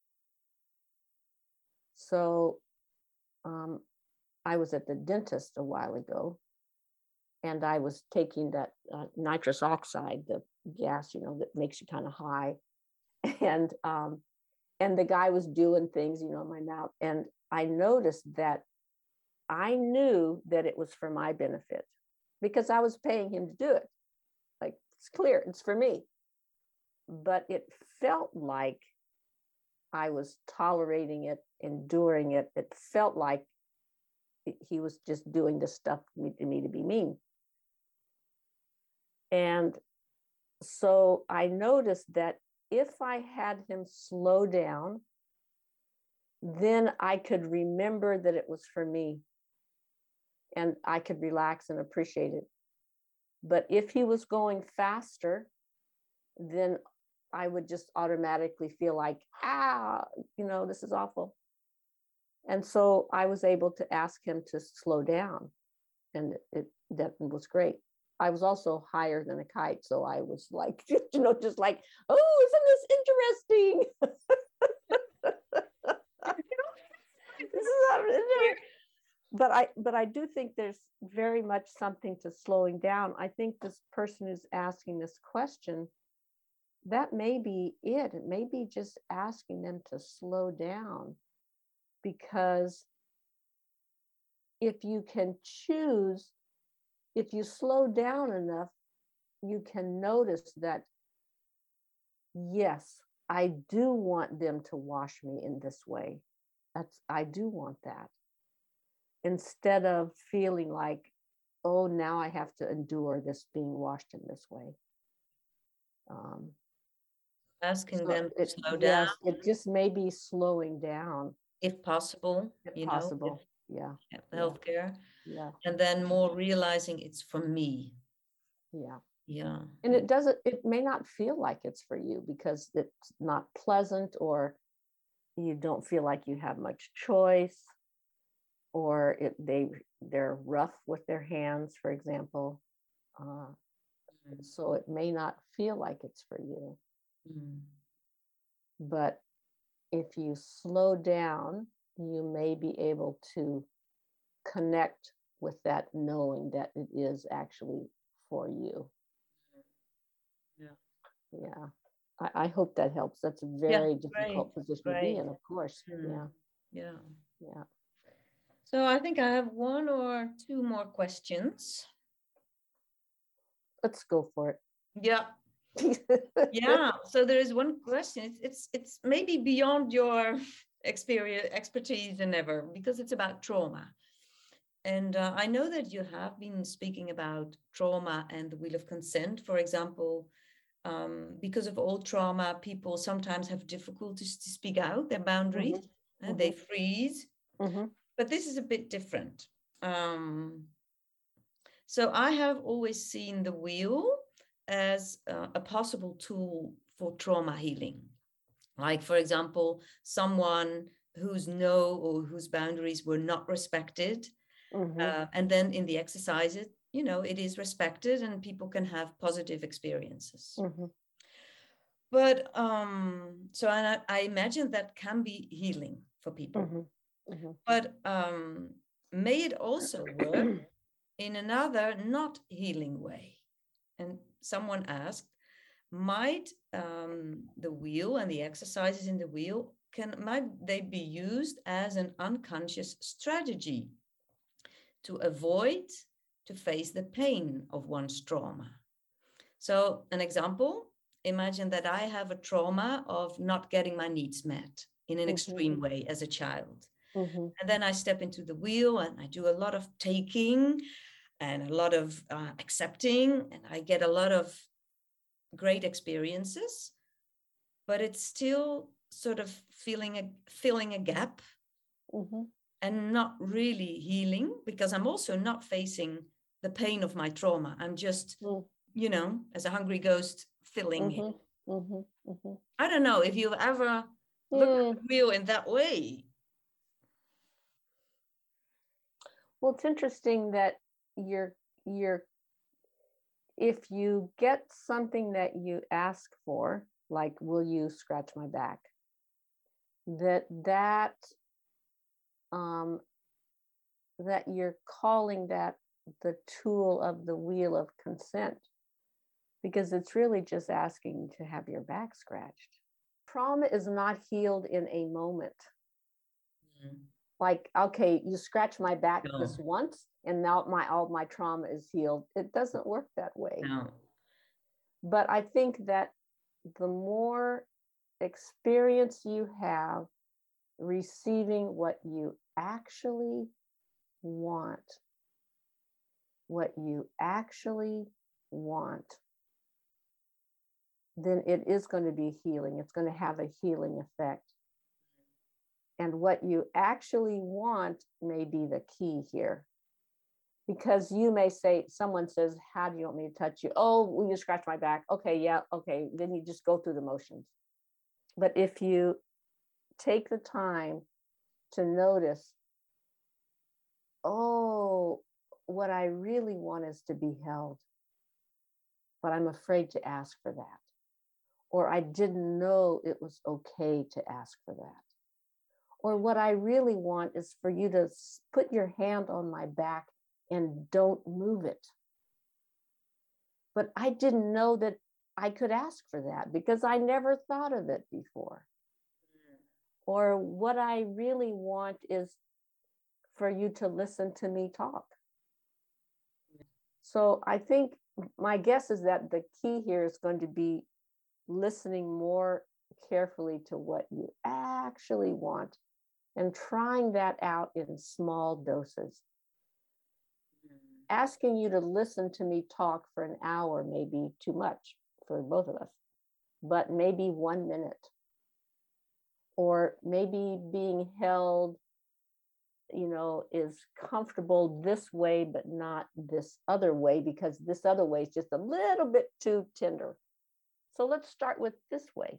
So um, I was at the dentist a while ago, and I was taking that uh, nitrous oxide, the gas, you know, that makes you kind of high. And um, and the guy was doing things, you know, in my mouth. And I noticed that I knew that it was for my benefit because I was paying him to do it. Like, it's clear, it's for me. But it felt like I was tolerating it, enduring it. It felt like he was just doing this stuff to me to be mean. And so I noticed that if I had him slow down, then I could remember that it was for me and I could relax and appreciate it. But if he was going faster, then I would just automatically feel like, ah, you know, this is awful. And so I was able to ask him to slow down, and it, that was great. I was also higher than a kite, so I was like, you know, just like, oh, isn't this interesting? This is but I, but I do think there's very much something to slowing down. I think this person who's asking this question, that may be it. It may be just asking them to slow down, because if you can choose, if you slow down enough, you can notice that, yes, I do want them to wash me in this way. That's, I do want that. Instead of feeling like, oh, now I have to endure this being washed in this way. Um, Asking So them to it, slow down, yes, it just may be slowing down if possible, if you know, with possible. Yeah, yeah, healthcare. yeah, And then more realizing it's for me. yeah. Yeah. And it doesn't, it may not feel like it's for you because it's not pleasant, or you don't feel like you have much choice, or it they they're rough with their hands, for example. Uh, Mm. so it may not feel like it's for you. Mm. But if you slow down, you may be able to connect with that knowing that it is actually for you. Yeah. Yeah. I, I hope that helps. That's a very Yeah, difficult great, position to be great. in, of course. Mm. Yeah. Yeah. Yeah. So I think I have one or two more questions. Let's go for it. Yeah. Yeah. So there is one question. It's it's it's maybe beyond your experience, expertise, and ever, because it's about trauma. And uh, I know that you have been speaking about trauma and the wheel of consent, for example. Um, because of old trauma, people sometimes have difficulties to speak out their boundaries. Mm-hmm. Uh, Mm-hmm. They freeze. Mm-hmm. But this is a bit different. Um, so I have always seen the wheel as uh, a possible tool for trauma healing. Like, for example, someone whose no or whose boundaries were not respected. Mm-hmm. Uh, and then in the exercises, you know, it is respected and people can have positive experiences. Mm-hmm. But um, so I, I imagine that can be healing for people. Mm-hmm. Mm-hmm. But um, may it also work in another not healing way? And someone asked, might um, the wheel and the exercises in the wheel, can might they be used as an unconscious strategy to avoid to face the pain of one's trauma? So an example, imagine that I have a trauma of not getting my needs met in an Mm-hmm. extreme way as a child. Mm-hmm. And then I step into the wheel and I do a lot of taking and a lot of uh, accepting, and I get a lot of great experiences, but it's still sort of feeling a, filling a gap. Mm-hmm. And not really healing, because I'm also not facing the pain of my trauma. I'm just, mm. you know, as a hungry ghost filling mm-hmm. it. Mm-hmm. Mm-hmm. I don't know if you've ever mm. looked at the wheel in that way. Well, it's interesting that you're you're if you get something that you ask for, like, will you scratch my back, that that um that you're calling that the tool of the wheel of consent, because it's really just asking to have your back scratched. Trauma is not healed in a moment. Mm-hmm. Like, okay, you scratch my back no. this once and now my all my trauma is healed. It doesn't work that way. No. But I think that the more experience you have receiving what you actually want, what you actually want, then it is going to be healing. It's going to have a healing effect. And what you actually want may be the key here. Because you may say, someone says, how do you want me to touch you? Oh, will you scratch my back? Okay, yeah, okay. Then you just go through the motions. But if you take the time to notice, oh, what I really want is to be held, but I'm afraid to ask for that. Or I didn't know it was okay to ask for that. Or what I really want is for you to put your hand on my back and don't move it. But I didn't know that I could ask for that because I never thought of it before. Mm. Or what I really want is for you to listen to me talk. So I think my guess is that the key here is going to be listening more carefully to what you actually want and trying that out in small doses. Mm. Asking you to listen to me talk for an hour may be too much for both of us. but maybe one minute. Or maybe being held, you know, is comfortable this way, but not this other way, because this other way is just a little bit too tender. So let's start with this way.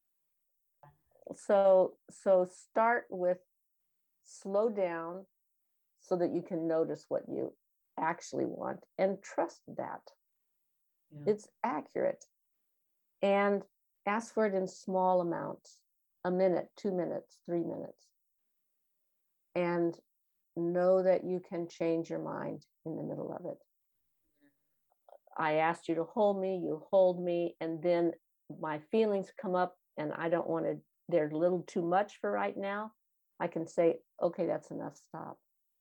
So, so start with slow down so that you can notice what you actually want and trust that. Yeah. It's accurate. And ask for it in small amounts, a minute, two minutes, three minutes. And know that you can change your mind in the middle of it. I asked you to hold me, you hold me, and then my feelings come up and I don't want to, they're a little too much for right now. I can say, okay, that's enough, stop.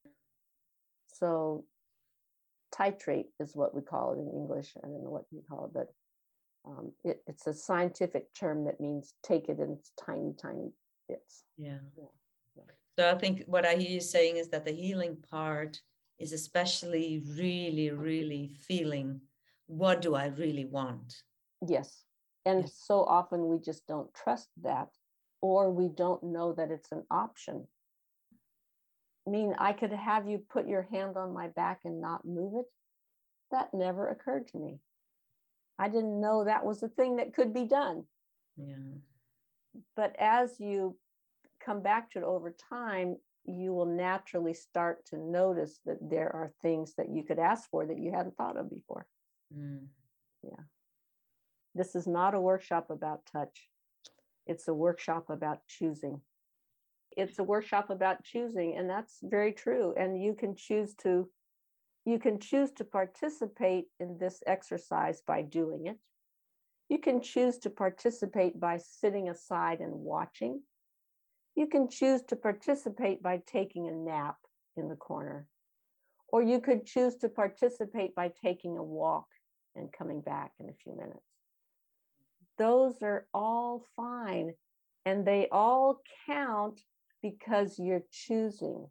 So titrate is what we call it in English. I don't know what you call it, but um, it, it's a scientific term that means take it in tiny, tiny bits. Yeah. yeah. So I think what I hear you saying is that the healing part is especially really, really feeling, what do I really want? Yes. And yes. So often we just don't trust that, or we don't know that it's an option. I mean, I could have you put your hand on my back and not move it. That never occurred to me. I didn't know that was a thing that could be done. Yeah. But as you come back to it over time, you will naturally start to notice that there are things that you could ask for that you hadn't thought of before. Mm. Yeah. This is not a workshop about touch. It's a workshop about choosing. It's a workshop about choosing, and that's very true. And you can choose to, you can choose to participate in this exercise by doing it. You can choose to participate by sitting aside and watching. You can choose to participate by taking a nap in the corner, or you could choose to participate by taking a walk and coming back in a few minutes. Those are all fine, and they all count because you're choosing.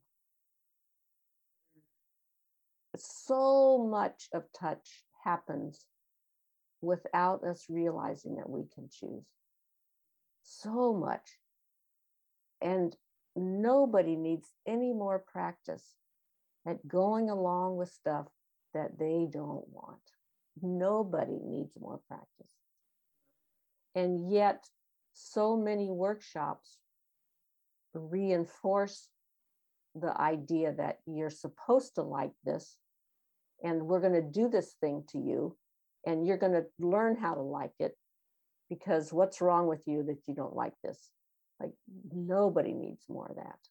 So much of touch happens without us realizing that we can choose. So much. And nobody needs any more practice at going along with stuff that they don't want. Nobody needs more practice. And yet, so many workshops reinforce the idea that you're supposed to like this, and we're going to do this thing to you, and you're going to learn how to like it, because what's wrong with you that you don't like this? Like, nobody needs more of that.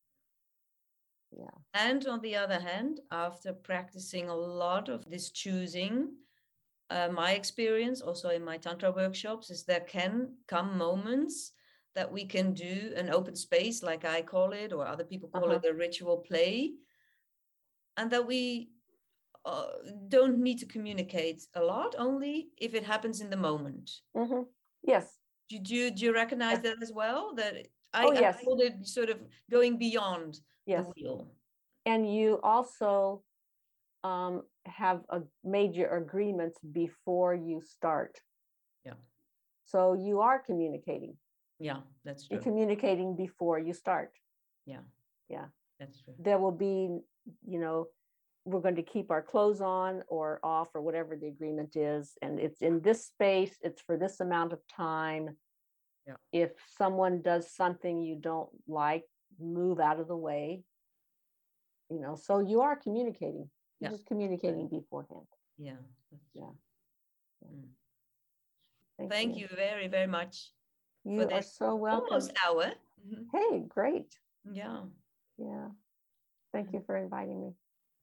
Yeah. And on the other hand, after practicing a lot of this choosing, uh, my experience also in my Tantra workshops is there can come moments that we can do an open space, like I call it, or other people call uh-huh. it a ritual play, and that we uh, don't need to communicate a lot, only if it happens in the moment. Mm-hmm. Yes. Do you, do you recognize yes. that as well? That I, oh, yes. I called it sort of going beyond yes. the wheel. And you also um, have a major agreements before you start. Yeah. So you are communicating. Yeah, that's true. You're communicating before you start. Yeah. Yeah. That's true. There will be, you know, we're going to keep our clothes on or off or whatever the agreement is. And it's in this space, it's for this amount of time. Yeah. If someone does something you don't like, move out of the way. You know, so you are communicating. You're yeah. just communicating beforehand. Yeah. Yeah. yeah. Mm. Thank, Thank you. you very, very much. You are so welcome. Almost hour. Mm-hmm. Hey, great. Yeah. Yeah. Thank you for inviting me.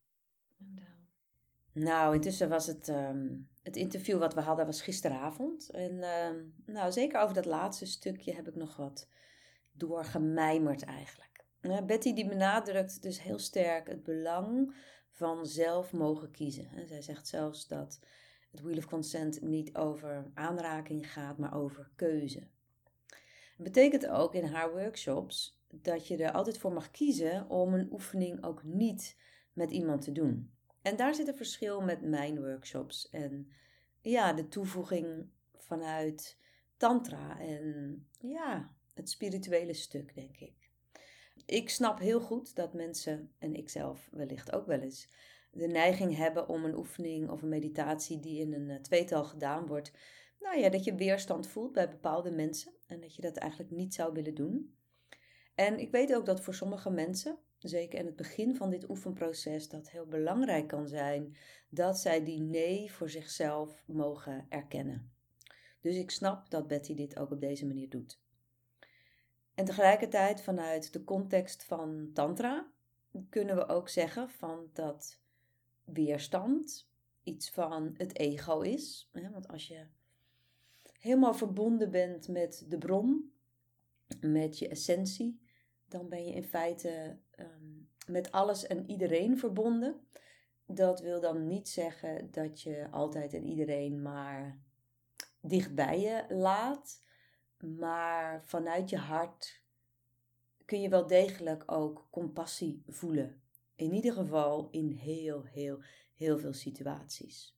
Nou, intussen was het, um, het interview wat we hadden was gisteravond. En um, nou, zeker over dat laatste stukje heb ik nog wat doorgemijmerd eigenlijk. Uh, Betty die benadrukt dus heel sterk het belang van zelf mogen kiezen. En zij zegt zelfs dat het Wheel of Consent niet over aanraking gaat, maar over keuze. Het betekent ook in haar workshops dat je er altijd voor mag kiezen om een oefening ook niet met iemand te doen. En daar zit een verschil met mijn workshops. En ja, de toevoeging vanuit tantra en ja, het spirituele stuk, denk ik. Ik snap heel goed dat mensen, en ik zelf wellicht ook wel eens, de neiging hebben om een oefening of een meditatie die in een tweetal gedaan wordt, nou ja, dat je weerstand voelt bij bepaalde mensen en dat je dat eigenlijk niet zou willen doen. En ik weet ook dat voor sommige mensen, zeker in het begin van dit oefenproces, dat heel belangrijk kan zijn dat zij die nee voor zichzelf mogen erkennen. Dus ik snap dat Betty dit ook op deze manier doet. En tegelijkertijd vanuit de context van tantra kunnen we ook zeggen van dat weerstand iets van het ego is. Want als je helemaal verbonden bent met de bron, met je essentie, dan ben je in feite um, met alles en iedereen verbonden. Dat wil dan niet zeggen dat je altijd en iedereen maar dichtbij je laat. Maar vanuit je hart kun je wel degelijk ook compassie voelen. In ieder geval in heel, heel, heel veel situaties.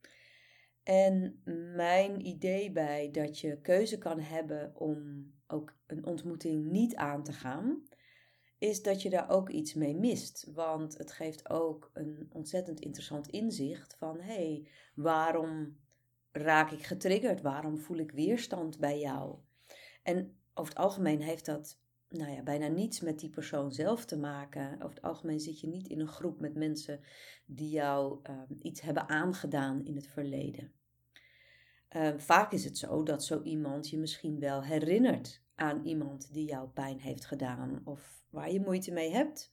En mijn idee bij dat je keuze kan hebben om ook een ontmoeting niet aan te gaan, is dat je daar ook iets mee mist. Want het geeft ook een ontzettend interessant inzicht van, hé, hey, waarom raak ik getriggerd? Waarom voel ik weerstand bij jou? En over het algemeen heeft dat nou ja, bijna niets met die persoon zelf te maken. Over het algemeen zit je niet in een groep met mensen die jou uh, iets hebben aangedaan in het verleden. Uh, vaak is het zo dat zo iemand je misschien wel herinnert aan iemand die jou pijn heeft gedaan of waar je moeite mee hebt.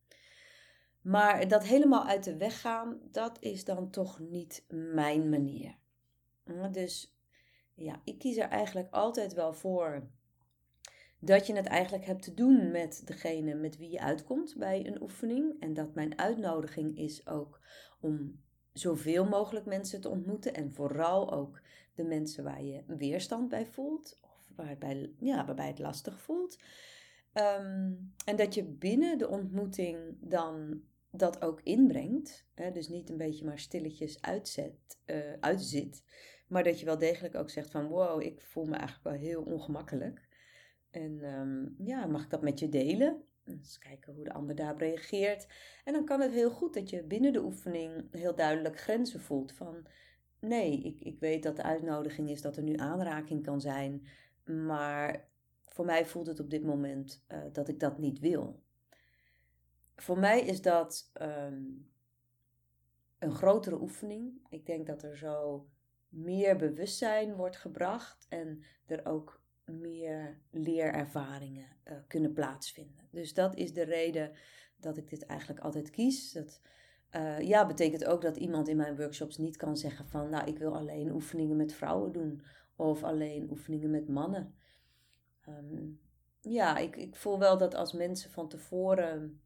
Maar dat helemaal uit de weg gaan, dat is dan toch niet mijn manier. Uh, dus ja, ik kies er eigenlijk altijd wel voor dat je het eigenlijk hebt te doen met degene met wie je uitkomt bij een oefening. En dat mijn uitnodiging is ook om zoveel mogelijk mensen te ontmoeten. En vooral ook de mensen waar je weerstand bij voelt. Of waarbij, ja, waarbij het lastig voelt. Um, en dat je binnen de ontmoeting dan dat ook inbrengt. Hè, dus niet een beetje maar stilletjes uitzet, uh, uitzit. Maar dat je wel degelijk ook zegt van wow, ik voel me eigenlijk wel heel ongemakkelijk. En um, ja, mag ik dat met je delen? Eens kijken hoe de ander daarop reageert. En dan kan het heel goed dat je binnen de oefening heel duidelijk grenzen voelt. Van nee, ik, ik weet dat de uitnodiging is dat er nu aanraking kan zijn. Maar voor mij voelt het op dit moment uh, dat ik dat niet wil. Voor mij is dat um, een grotere oefening. Ik denk dat er zo meer bewustzijn wordt gebracht. En er ook meer leerervaringen uh, kunnen plaatsvinden. Dus dat is de reden dat ik dit eigenlijk altijd kies. Dat uh, ja, betekent ook dat iemand in mijn workshops niet kan zeggen van nou, ik wil alleen oefeningen met vrouwen doen of alleen oefeningen met mannen. Um, ja, ik, ik voel wel dat als mensen van tevoren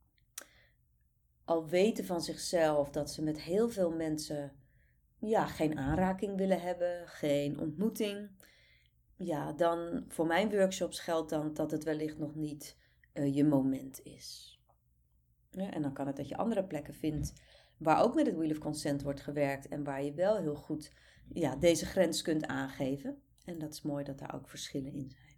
al weten van zichzelf dat ze met heel veel mensen ja, geen aanraking willen hebben, geen ontmoeting. Ja, dan voor mijn workshops geldt dan dat het wellicht nog niet uh, je moment is. Ja, en dan kan het dat je andere plekken vindt waar ook met het Wheel of Consent wordt gewerkt en waar je wel heel goed ja, deze grens kunt aangeven. En dat is mooi dat daar ook verschillen in zijn.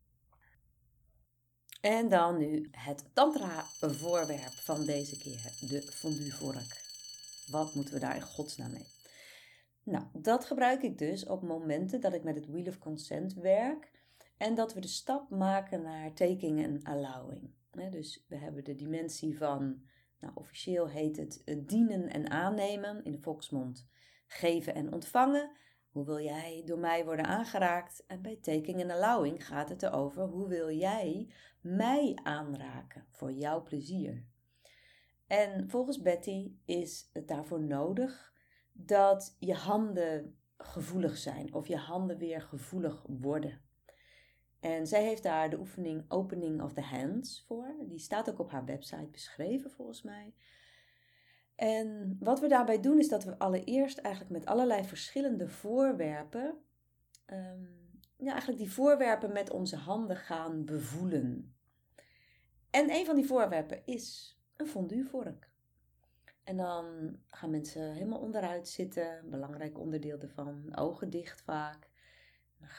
En dan nu het tantra voorwerp van deze keer, de fondue vork. Wat moeten we daar in godsnaam mee? Nou, dat gebruik ik dus op momenten dat ik met het Wheel of Consent werk en dat we de stap maken naar taking en allowing. Dus we hebben de dimensie van, nou officieel heet het dienen en aannemen, in de volksmond geven en ontvangen. Hoe wil jij door mij worden aangeraakt? En bij taking en allowing gaat het erover, hoe wil jij mij aanraken voor jouw plezier? En volgens Betty is het daarvoor nodig dat je handen gevoelig zijn of je handen weer gevoelig worden. En zij heeft daar de oefening Opening of the Hands voor. Die staat ook op haar website beschreven volgens mij. En wat we daarbij doen is dat we allereerst eigenlijk met allerlei verschillende voorwerpen, um, ja, eigenlijk die voorwerpen met onze handen gaan bevoelen. En een van die voorwerpen is een fonduevork. En dan gaan mensen helemaal onderuit zitten, een belangrijk onderdeel ervan, ogen dicht vaak. Dan ga je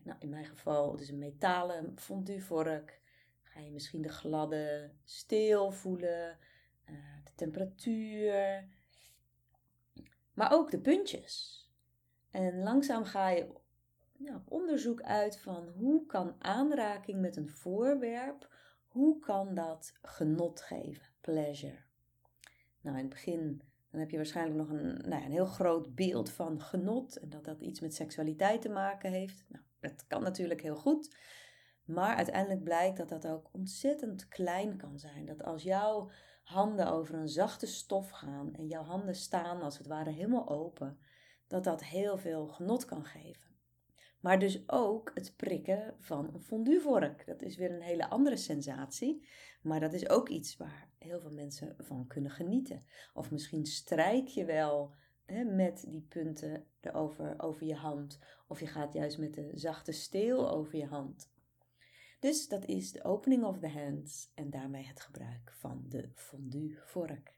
Nou, in mijn geval, het is een metalen fondue vork. Ga je misschien de gladde steel voelen, uh, de temperatuur, maar ook de puntjes. En langzaam ga je nou, op onderzoek uit van hoe kan aanraking met een voorwerp, hoe kan dat genot geven, pleasure. Nou, in het begin dan heb je waarschijnlijk nog een, nou ja, een heel groot beeld van genot en dat dat iets met seksualiteit te maken heeft. Nou, dat kan natuurlijk heel goed, maar uiteindelijk blijkt dat dat ook ontzettend klein kan zijn. Dat als jouw handen over een zachte stof gaan en jouw handen staan als het ware helemaal open, dat dat heel veel genot kan geven. Maar dus ook het prikken van een fonduevork. Dat is weer een hele andere sensatie. Maar dat is ook iets waar heel veel mensen van kunnen genieten. Of misschien strijk je wel hè, met die punten erover, over je hand. Of je gaat juist met de zachte steel over je hand. Dus dat is de opening of the hands en daarmee het gebruik van de fonduevork.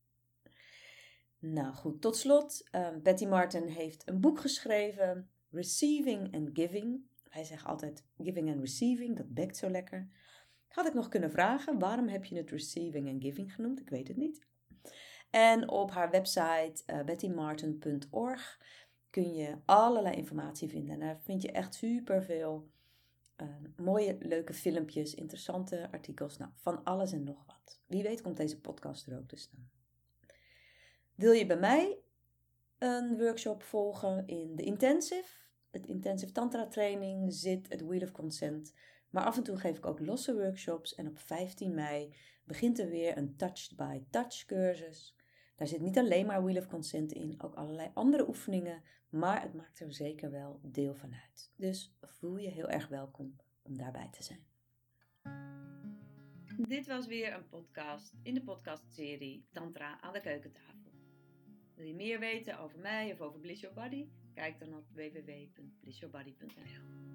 Nou goed, tot slot. Uh, Betty Martin heeft een boek geschreven. Receiving and Giving. Hij zegt altijd giving and receiving, dat bekt zo lekker. Had ik nog kunnen vragen, waarom heb je het receiving and giving genoemd? Ik weet het niet. En op haar website uh, betty martin punt org kun je allerlei informatie vinden. En daar vind je echt superveel uh, mooie, leuke filmpjes, interessante artikels. Nou, van alles en nog wat. Wie weet komt deze podcast er ook te staan. Wil je bij mij een workshop volgen in de intensive? Het intensive tantra training zit het Wheel of Consent. Maar af en toe geef ik ook losse workshops. En op vijftien mei begint er weer een Touched by Touch cursus. Daar zit niet alleen maar Wheel of Consent in, ook allerlei andere oefeningen. Maar het maakt er zeker wel deel van uit. Dus voel je heel erg welkom om daarbij te zijn. Dit was weer een podcast in de podcastserie Tantra aan de keukentafel. Wil je meer weten over mij of over Bliss Your Body? Kijk dan op w w w punt bliss your body punt n l.